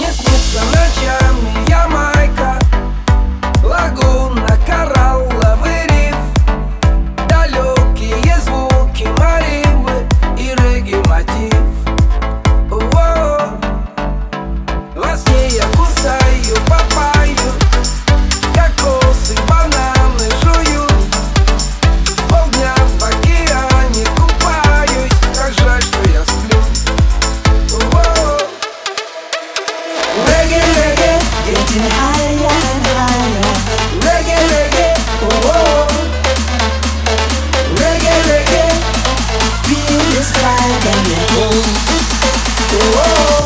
Мне снится ночами Ямайка, лагуна, коралловый риф, далекие звуки маримбы и регги-мотив. Во сне я кусаю папайю, кокосы, бананы жую, полдня в океане купаюсь. Как жаль, что я сплю. Reggae, reggae, getting higher and higher. Reggae, reggae, oh oh. Reggae, reggae, feel this vibe and let go. Oh oh.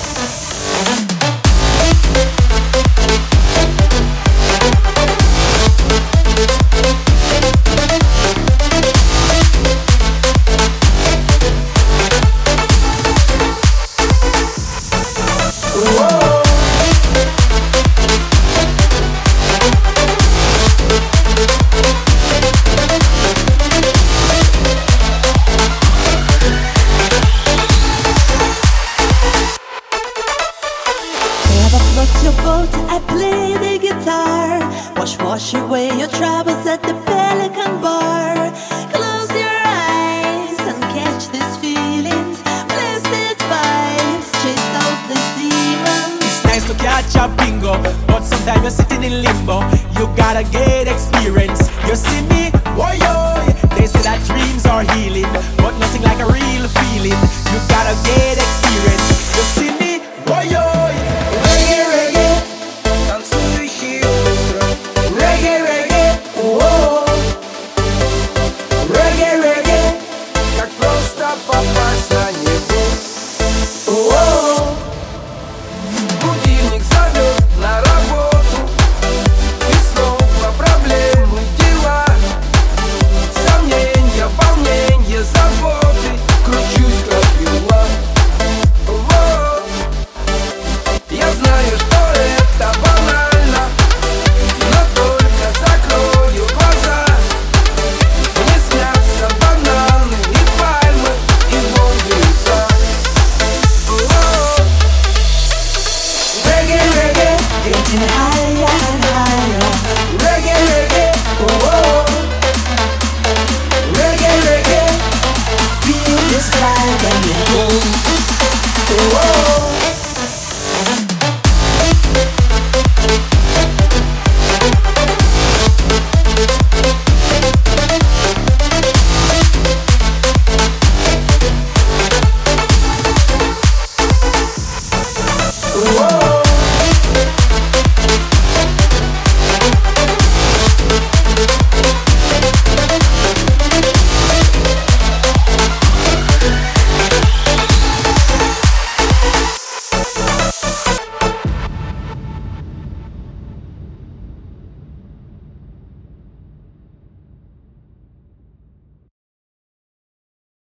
Float your boat, I play the guitar. Wash away your troubles at the Pelican Bar. Close your eyes and catch these feelings. Blessed vibes, chase out the demons. It's nice to catch a bingo, but sometimes you're sitting in limbo. You gotta get experience. You see me? Why yo? They say that dreams are healing, but nothing like a real feeling. You gotta get experience. You see me? Why yo? Танцующие утро. Reggae, reggae, oh oh. Reggae, reggae, Как просто попасть на небо. oh oh. Будильник зовет на работу, и снова проблемы, дела, сомнения, волнения, заботы. Кручусь как юла. Я знаю, что это банально, но только закрою глаза. Мне снятся бананы и пальмы, и Божий сад. Reggae, reggae, getting higher.